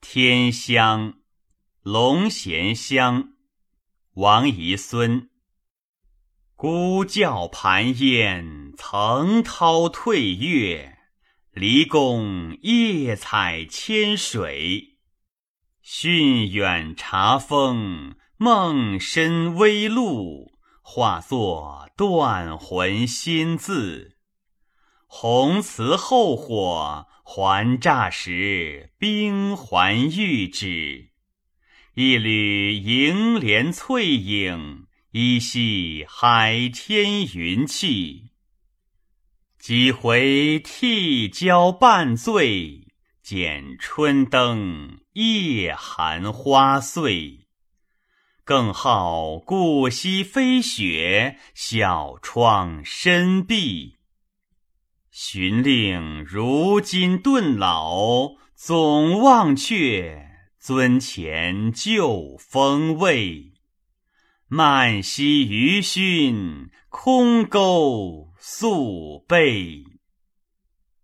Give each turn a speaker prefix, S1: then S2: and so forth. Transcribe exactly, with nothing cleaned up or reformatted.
S1: 天香，龙涎香，王遗孙。孤教盘烟，层涛退月。离宫夜采千水。训远察风，梦深微露。化作断魂心字。红瓷后火，还乍时冰还玉指。一缕银莲翠影，依稀海天云气。几回涕交半醉，剪春灯夜寒花碎。更好顾惜飞雪，小窗深闭。寻令如今顿老，总忘却尊前旧风味。漫溪余熏，空钩宿背。